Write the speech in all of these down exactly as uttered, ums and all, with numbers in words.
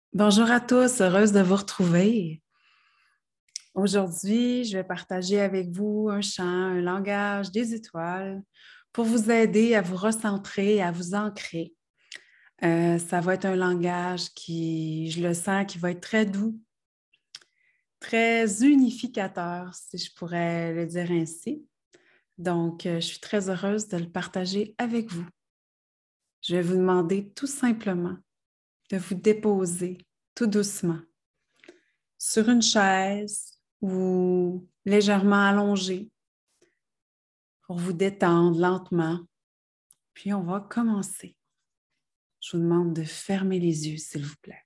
Bonjour à tous, heureuse de vous retrouver. Aujourd'hui, je vais partager avec vous un chant, un langage des étoiles pour vous aider à vous recentrer, à vous ancrer. Euh, ça va être un langage qui, je le sens, qui va être très doux, très unificateur, si je pourrais le dire ainsi. Donc, euh, je suis très heureuse de le partager avec vous. Je vais vous demander tout simplement de vous déposer tout doucement sur une chaise ou légèrement allongé pour vous détendre lentement. Puis on va commencer. Je vous demande de fermer les yeux, s'il vous plaît.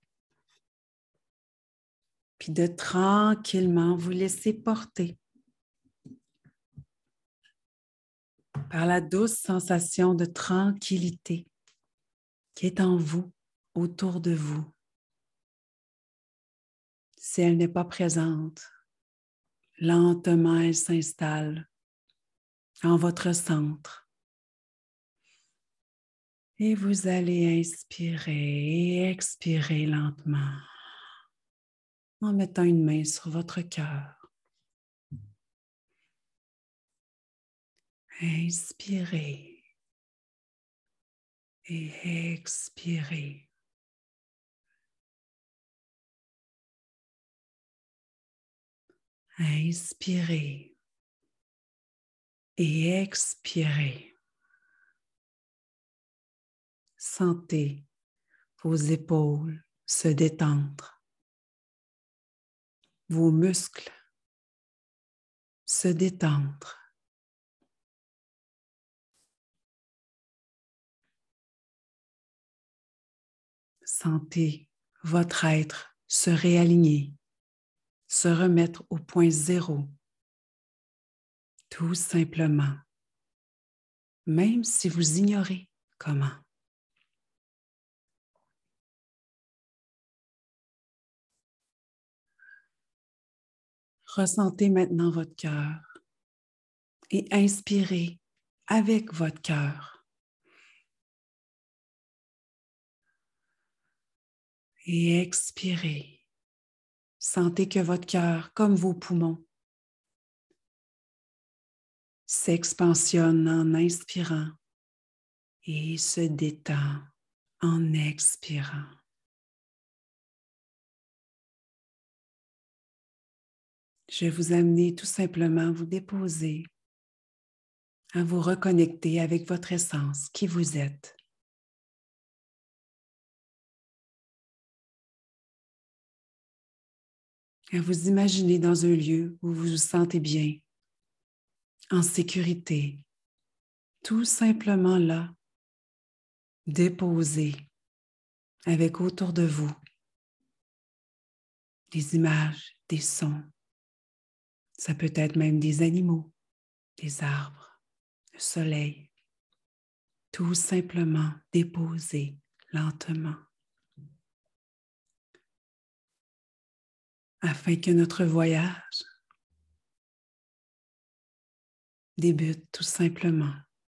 Puis de tranquillement vous laisser porter par la douce sensation de tranquillité qui est en vous, autour de vous. Si elle n'est pas présente, lentement elle s'installe en votre centre. Et vous allez inspirer et expirer lentement en mettant une main sur votre cœur. Inspirez et expirez. Inspirez et expirez. Sentez vos épaules se détendre, vos muscles se détendre. Sentez votre être se réaligner, se remettre au point zéro, tout simplement, même si vous ignorez comment. Ressentez maintenant votre cœur et inspirez avec votre cœur. Et expirez. Sentez que votre cœur, comme vos poumons, s'expansionne en inspirant et se détend en expirant. Je vais vous amener tout simplement à vous déposer, à vous reconnecter avec votre essence, qui vous êtes. À vous imaginer dans un lieu où vous vous sentez bien, en sécurité, tout simplement là, déposé avec autour de vous des images, des sons. Ça peut être même des animaux, des arbres, le soleil. Tout simplement déposé lentement afin que notre voyage débute tout simplement.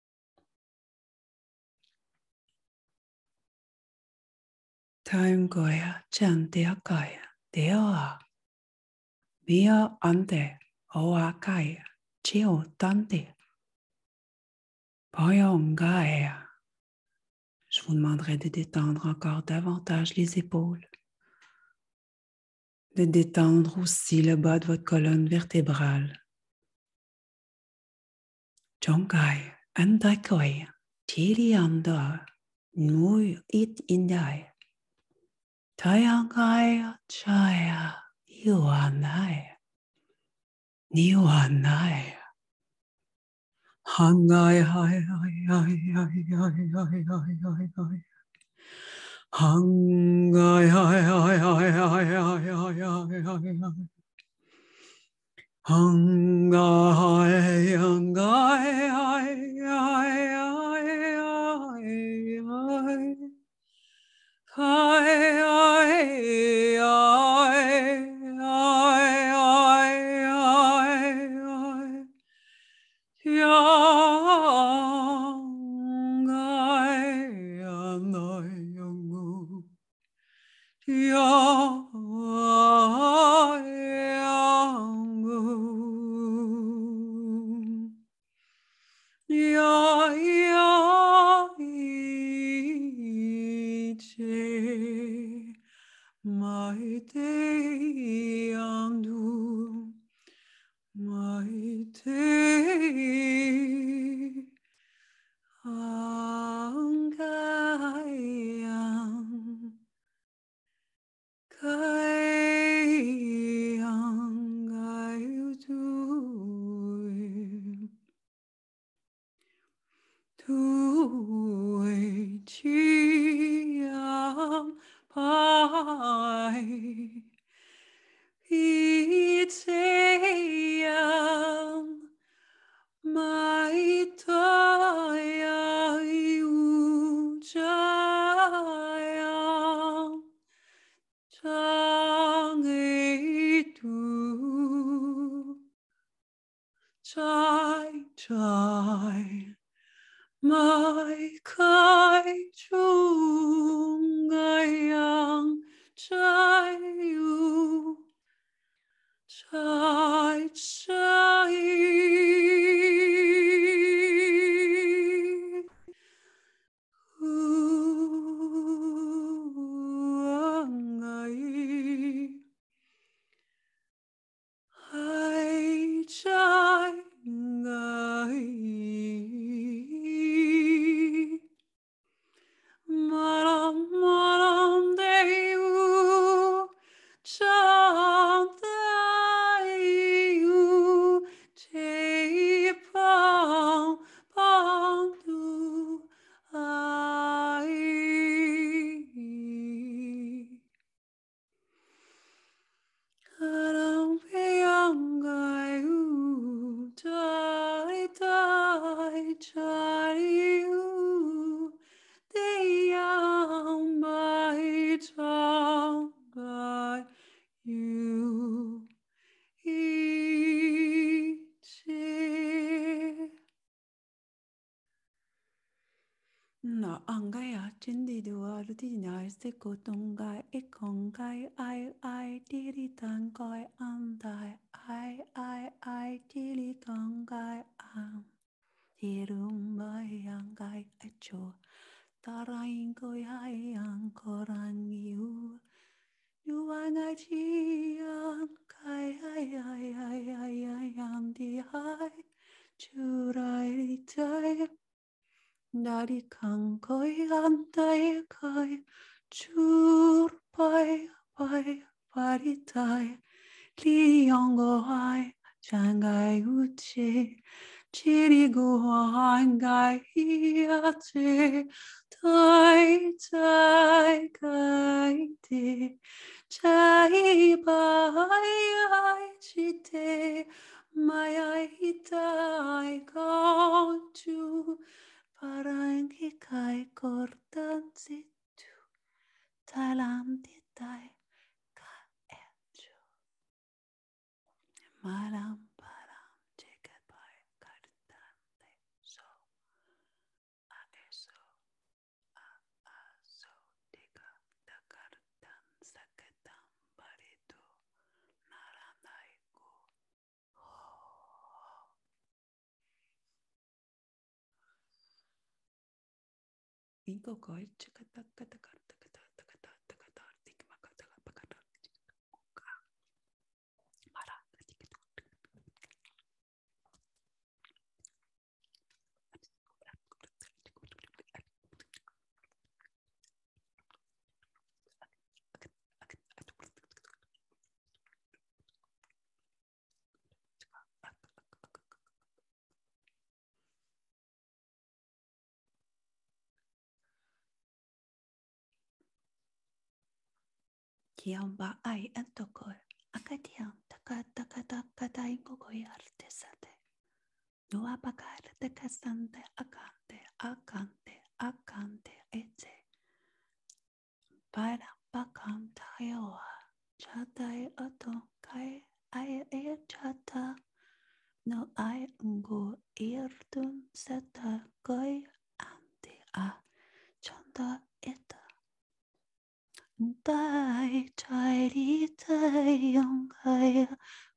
Taungoya chanteakaya deoa mia ante oakaya chio tante poyongaea. Je vous demanderai de détendre encore davantage les épaules, de détendre aussi le bas de votre colonne vertébrale. Jongai andakoya tirianda Nui it indai. Tayangaya chaya yuanai. Niwanai. Hangai hai hai hai hai hai hai hai hai hai. Hangai hai hai hai hai hai hai hai hai hai. Hangai hangai hai hai hai hai hai. Hi, hi, hi, hi, hi, hi, young, I am young. Ya ya iche maite andu maite angayang kayang ayutu tu chiam pai iteam mai toya ujayam chang tu chai chai mai kai chung ayang chai yu chai chai uangai hai chai ngai maram maram deu chantayu te pang pang tu ai Aram peyangai u dai dai chari u deyang mai changai you ichi na angaya chindi duar di nyai se kotungai ikongai ai ai diri tangai andai ai ai ai diri tangai am dirumbai angai acho tarain koi hai ang korang you you angai chiang kai ai ai ai ai ai am di hai churai tai Nari kang koi antai kai chur pai pai pari tai li yongo hai changai uchi chiri gu hangai hiate tai tai kai te chai bai ai chite mai ai hitai kong chu Parangki kai kortan situ dalam titai ka echo malam param jekat pai kartan te so a eso a a so tika takartan saketam baritu naranaiku Inko koi chikata kata kata kata kata kata tikma kata kata mara Kiam ba ai antokoi akatiam taka taka taka ta inko koi artesate no apakar te kasante akante akante akante ete para pakam tayoa chatai ato kai ai e chata no ai ungo irdun seta koi ante a chanda eta Tai tai tai yong kai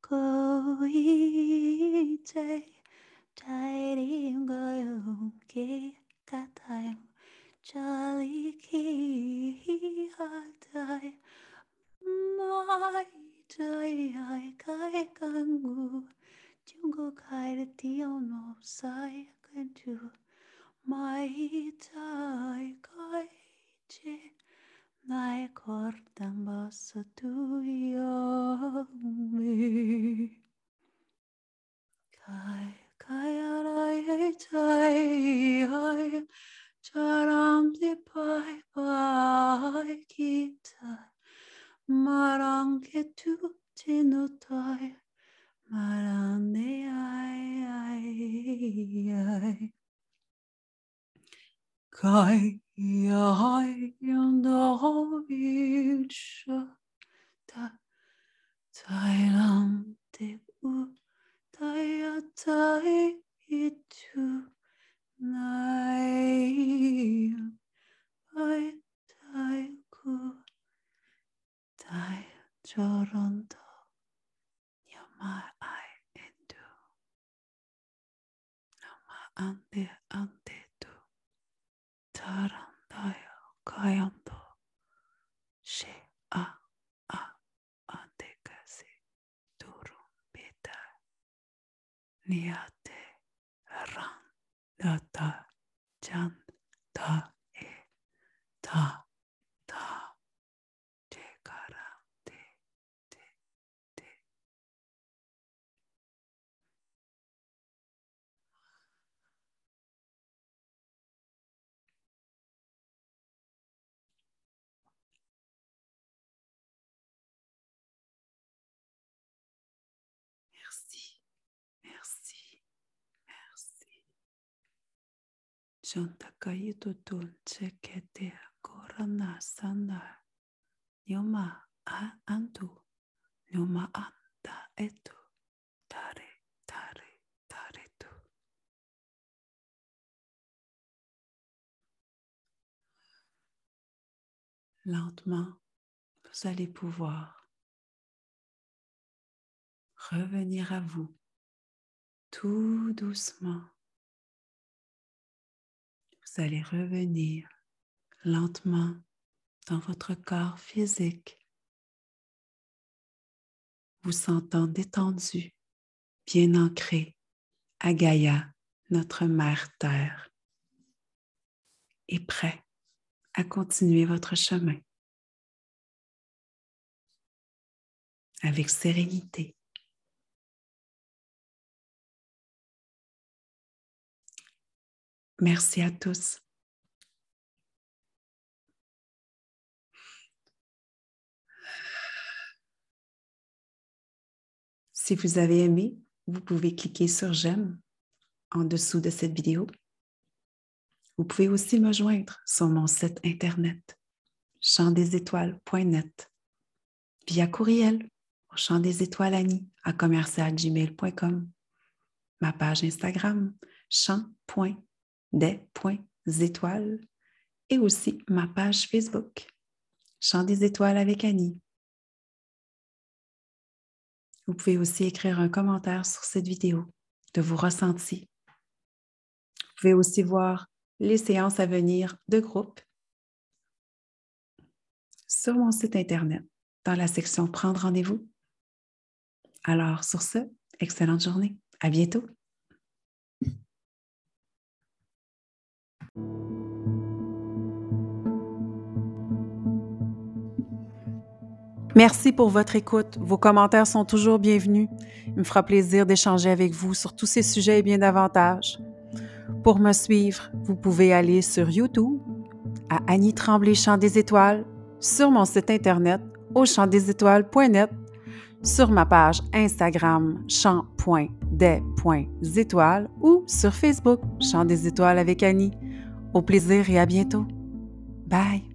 koi tai tai yong kai ki katai Charlie ki hatai mai tai ai kai kangu jungo kai de tio no sai kan tu mai tai kai che Nai cordam bassa tuia me. Kai kai arai ai tai ai charam de pai pai kita marang ke tu tinu tai marang de ai ai ai Kai ai yanda vicha ta Thailand te u taya tai itu nai ai tai ku tai choronto nyama ai endu nama ande ande tu tarandayo kayando she a a ande kasi turun beta niate ran data jan ta e ta ta te kara te te te merci merci merci Shantakayi tutun chekete korana sana Nyoma a antu Nyoma anda etu Tare tare tare tu Lentement, vous allez pouvoir revenir à vous tout doucement. Vous allez revenir lentement dans votre corps physique, vous sentant détendu, bien ancré à Gaïa, notre mère Terre, et prêt à continuer votre chemin avec sérénité. Merci à tous. Si vous avez aimé, vous pouvez cliquer sur j'aime en dessous de cette vidéo. Vous pouvez aussi me joindre sur mon site internet chant des étoiles point net via courriel au chant des étoiles Annie à commercial gmail point com, ma page Instagram chant point des point étoiles et aussi ma page Facebook Chant des étoiles avec Annie. Vous pouvez aussi écrire un commentaire sur cette vidéo de vos ressentis. Vous pouvez aussi voir les séances à venir de groupe sur mon site internet dans la section Prendre rendez-vous. Alors, sur ce, excellente journée. À bientôt. Merci pour votre écoute. Vos commentaires sont toujours bienvenus. Il me fera plaisir d'échanger avec vous sur tous ces sujets et bien davantage. Pour me suivre, vous pouvez aller sur YouTube, à Annie Tremblay Chant des étoiles, sur mon site internet au chant des étoiles point net, sur ma page Instagram chant point des point étoiles ou sur Facebook Chant des étoiles avec Annie. Au plaisir et à bientôt. Bye!